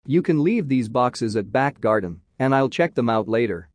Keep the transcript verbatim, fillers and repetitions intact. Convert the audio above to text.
You can leave these boxes at back garden and I'll check them out later.